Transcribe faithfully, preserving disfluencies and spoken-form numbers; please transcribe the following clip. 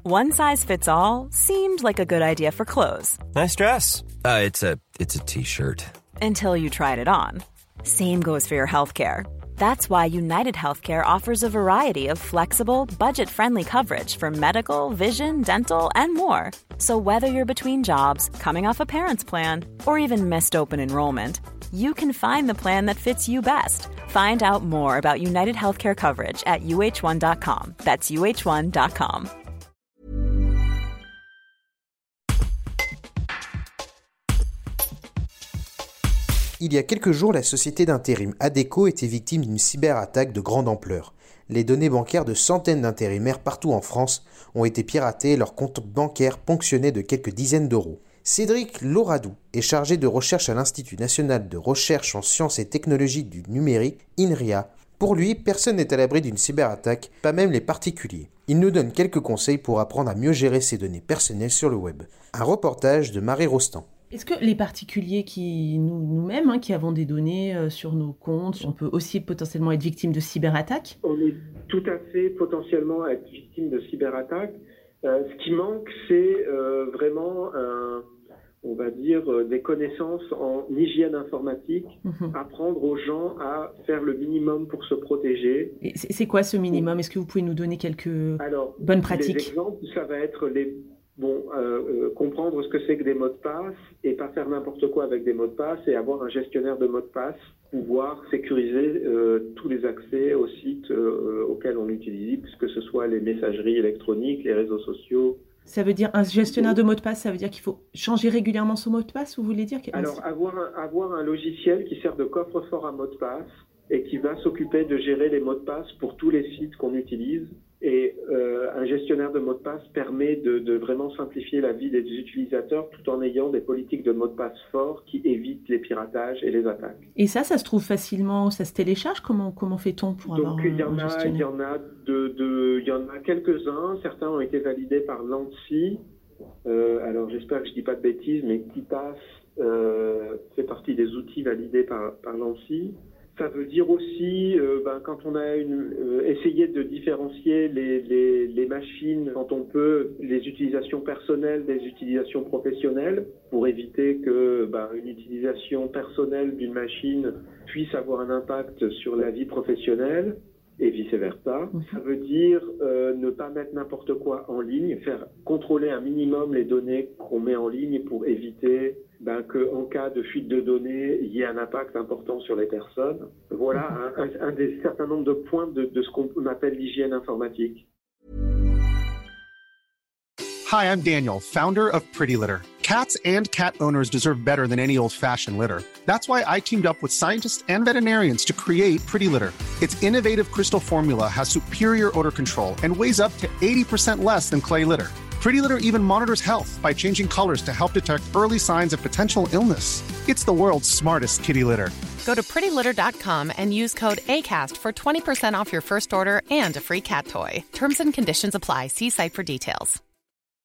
One size fits all seemed like a good idea for clothes. Nice dress. Uh, it's a it's a t-shirt. Until you tried it on. Same goes for your healthcare. That's why United Healthcare offers a variety of flexible, budget-friendly coverage for medical, vision, dental, and more. So whether you're between jobs, coming off a parent's plan, or even missed open enrollment, you can find the plan that fits you best. Find out more about United Healthcare coverage at U H one dot com. That's U H one dot com. Il y a quelques jours, la société d'intérim Adecco était victime d'une cyberattaque de grande ampleur. Les données bancaires de centaines d'intérimaires partout en France ont été piratées et leurs comptes bancaires ponctionnés de quelques dizaines d'euros. Cédric Lauradou est chargé de recherche à l'Institut national de recherche en sciences et technologies du numérique, INRIA. Pour lui, personne n'est à l'abri d'une cyberattaque, pas même les particuliers. Il nous donne quelques conseils pour apprendre à mieux gérer ses données personnelles sur le web. Un reportage de Marie Rostand. Est-ce que les particuliers qui nous, nous-mêmes, hein, qui avons des données euh, sur nos comptes, on peut aussi potentiellement être victime de cyberattaques ? On est tout à fait potentiellement à être victime de cyberattaques. Euh, ce qui manque, c'est euh, vraiment, un, on va dire, euh, des connaissances en hygiène informatique, mmh. apprendre aux gens à faire le minimum pour se protéger. Et c'est, c'est quoi ce minimum ? Est-ce que vous pouvez nous donner quelques Alors, bonnes pratiques ? Les exemples, ça va être les... Bon, euh, euh, comprendre ce que c'est que des mots de passe et pas faire n'importe quoi avec des mots de passe et avoir un gestionnaire de mots de passe, pouvoir sécuriser euh, tous les accès aux sites euh, auxquels on utilise, que ce soit les messageries électroniques, les réseaux sociaux. Ça veut dire un gestionnaire de mots de passe, ça veut dire qu'il faut changer régulièrement son mot de passe, vous voulez dire ? Alors, avoir un, avoir un logiciel qui sert de coffre-fort à mots de passe et qui va s'occuper de gérer les mots de passe pour tous les sites qu'on utilise. Et euh, un gestionnaire de mots de passe permet de, de vraiment simplifier la vie des utilisateurs tout en ayant des politiques de mots de passe forts qui évitent les piratages et les attaques. Et ça, ça se trouve facilement, ça se télécharge ? Comment, comment fait-on pour Donc, avoir un, il y en un a, gestionnaire ? il y en a de, de, il y en a quelques-uns. Certains ont été validés par l'ANSSI. Euh, alors, j'espère que je dis pas de bêtises, mais KeePass euh, fait partie des outils validés par, par l'ANSSI. Ça veut dire aussi, euh, ben, quand on a une, euh, essayé de différencier les, les, les machines, quand on peut, les utilisations personnelles des utilisations professionnelles, pour éviter que ben, une utilisation personnelle d'une machine puisse avoir un impact sur la vie professionnelle et vice-versa. Ça veut dire euh, ne pas mettre n'importe quoi en ligne, faire contrôler un minimum les données qu'on met en ligne pour éviter ben, qu'en cas de fuite de données, il y ait un impact important sur les personnes. Voilà un, un, un des certain nombre de points de, de ce qu'on appelle l'hygiène informatique. Hi, I'm Daniel, founder of Pretty Litter. Cats and cat owners deserve better than any old-fashioned litter. That's why I teamed up with scientists and veterinarians to create Pretty Litter. Its innovative crystal formula has superior odor control and weighs up to eighty percent less than clay litter. Pretty Litter even monitors health by changing colors to help detect early signs of potential illness. It's the world's smartest kitty litter. Go to pretty litter dot com and use code ACAST for twenty percent off your first order and a free cat toy. Terms and conditions apply. See site for details.